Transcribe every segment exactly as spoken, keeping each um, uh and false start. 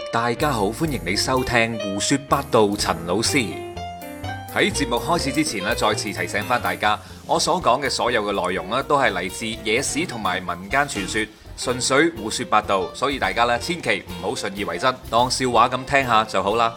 大家好，歡迎你收聽胡說八道。陳老師喺節目開始之前咧，再次提醒翻大家，我所講嘅所有嘅內容咧，都係嚟自野史同埋民間傳說，純粹胡說八道，所以大家咧千祈唔好信以為真，當笑話咁聽下就好啦。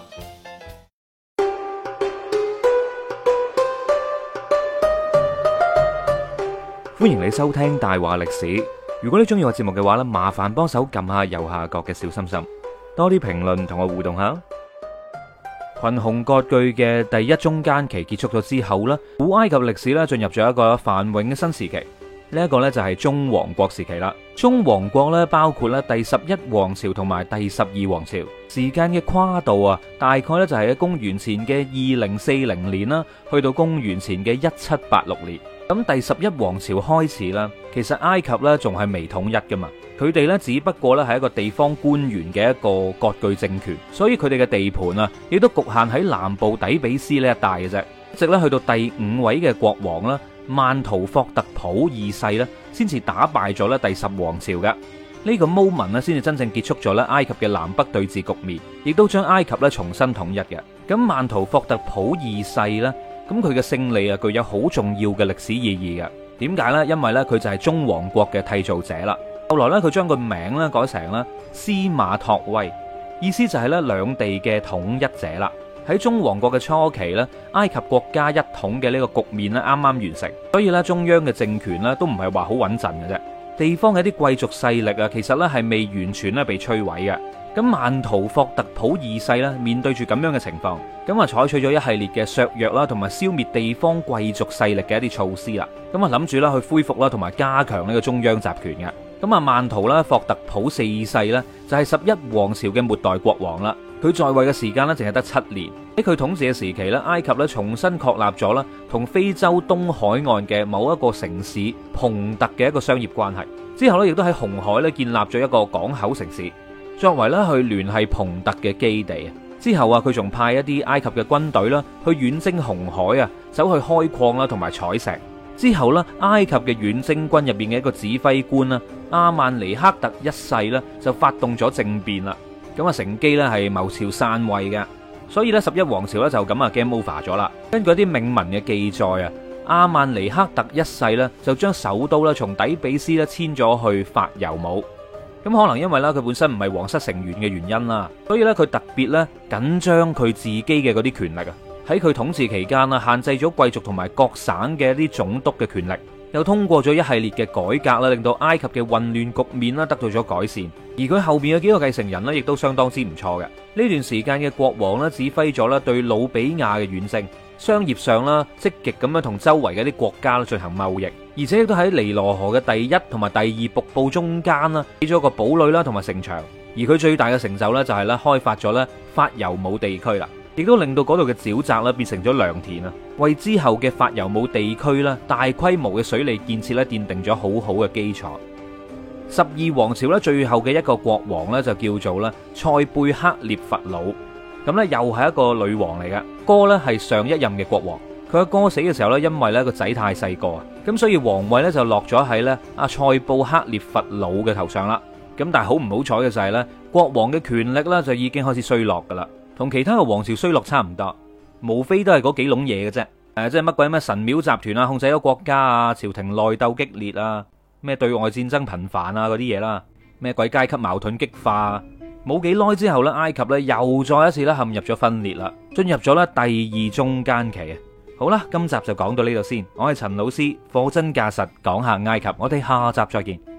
歡迎你收聽大話歷史。如果你中意我節目嘅話咧，麻煩幫手撳下右下角嘅小心心，多啲評論同我互動下。群雄割據嘅第一中間期結束咗之後咧，古埃及歷史咧進入咗一個繁榮嘅新時期。呢一個咧就係中王國時期啦。中王國咧包括咧第十一王朝同埋第十二王朝，時間嘅跨度啊，大概咧就係喺公元前嘅二零四零年啦，去到公元前嘅一七八六年。咁第十一王朝開始啦，其實埃及咧仲係未統一噶嘛，佢哋咧只不過咧係一個地方官員嘅一個割據政權，所以佢哋嘅地盤啊，亦都局限喺南部底比斯呢一帶嘅啫。一直咧去到第五位嘅國王啦，曼圖霍特普二世咧，先至打敗咗咧第十王朝嘅呢個 moment 咧，先至真正結束咗咧埃及嘅南北對峙局面，亦都將埃及咧重新統一嘅。咁曼圖霍特普二世咧，咁佢嘅勝利啊，具有好重要嘅歷史意義嘅。點解呢？因為呢，佢就係中王國嘅締造者啦。後來呢，佢將個名咧改成咧司馬托威，意思就係咧兩地嘅統一者啦。喺中王國嘅初期呢，埃及國家一統嘅呢個局面咧啱啱完成，所以呢，中央嘅政權呢都唔係話好穩陣嘅啫。地方嘅一啲貴族勢力啊，其實呢係未完全咧被摧毀嘅。咁曼圖霍特普二世咧，面對住咁樣嘅情況，咁啊採取咗一系列嘅削弱啦，同埋消滅地方貴族勢力嘅一啲措施啦。咁啊諗住啦去恢復啦，同埋加強呢個中央集權嘅。咁啊曼圖啦霍特普四世呢，就係十一王朝嘅末代國王啦。佢在位嘅時間呢，淨係得七年。喺佢統治嘅時期呢，埃及咧重新確立咗啦同非洲東海岸嘅某一個城市蓬特嘅一個商業關係。之後咧亦都喺紅海咧建立咗一個港口城市，作為咧去聯繫蓬特嘅基地。之後啊，佢仲派一啲埃及嘅軍隊啦去遠征紅海啊，走去開礦啦同埋採石。之後咧，埃及嘅遠征軍入邊嘅一個指揮官啦，阿曼尼克特一世咧就發動咗政變啦。咁啊，乘機咧係謀朝篡位嘅。所以咧，十一王朝咧就咁啊 game over 咗啦。根據一啲銘文嘅記載啊，阿曼尼克特一世咧就將首都咧從底比斯咧遷咗去法尤姆。咁可能因為咧佢本身唔係皇室成員嘅原因啦，所以咧佢特別咧緊張佢自己嘅嗰啲權力啊。喺佢統治期間啊，限制咗貴族同埋各省嘅一啲總督嘅權力，又通過咗一系列嘅改革啦，令到埃及嘅混亂局面啦得到咗改善。而佢後邊嘅幾個繼承人呢，亦都相當之唔錯嘅。呢段時間嘅國王呢，指揮咗咧對努比亞嘅遠征，商業上啦積極咁樣同周圍嘅啲國家進行貿易，而且亦都喺尼羅河嘅第一同埋第二瀑布中間啦起咗個堡壘啦同埋城牆。而佢最大嘅成就呢，就係咧開發咗咧法尤姆地區啦，亦都令到嗰度嘅沼澤啦變成咗良田啊，為之後嘅法尤姆地區啦大規模嘅水利建設咧奠定咗好好嘅基礎。十二王朝咧最後嘅一個國王咧就叫做咧塞貝克列佛魯，咁咧又係一個女王嚟嘅。哥咧係上一任嘅國王，佢阿哥死嘅時候咧，因為咧個仔太細個啊，咁所以皇位咧就落咗喺咧阿塞布克列佛魯嘅頭上啦。咁但係好唔好彩嘅就係咧，國王嘅權力咧就已經開始衰落噶啦，同其他嘅王朝衰落差唔多，無非都係嗰幾籠嘢嘅啫。誒，即係乜鬼咩神廟集團啊，控制咗國家啊，朝廷內鬥激烈啊，咩對外戰爭頻繁啊嗰啲嘢啦，咩鬼階級矛盾激化，冇幾耐之後咧，埃及咧又再一次咧陷入咗分裂啦，進入咗咧第二中間期啊。好啦，今集就講到呢度先，我係陳老師，貨真價實講下埃及，我哋下集再見。